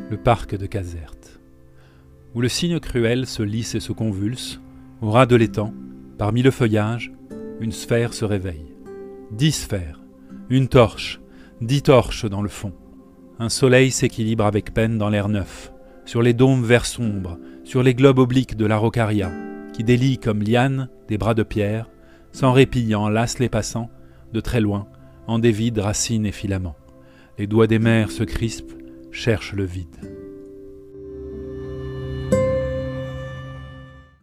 le parc de Caserte, où le cygne cruel se lisse et se convulse, au ras de l'étang, parmi le feuillage, une sphère se réveille. 10 sphères, une torche, 10 torches dans le fond. Un soleil s'équilibre avec peine dans l'air neuf, sur les dômes verts sombres, sur les globes obliques de l'araucaria, qui délient comme lianes des bras de pierre, sans répit enlacent les passants, de très loin, en dévident racines et filaments. Les doigts des mers se crispent, cherchent le vide.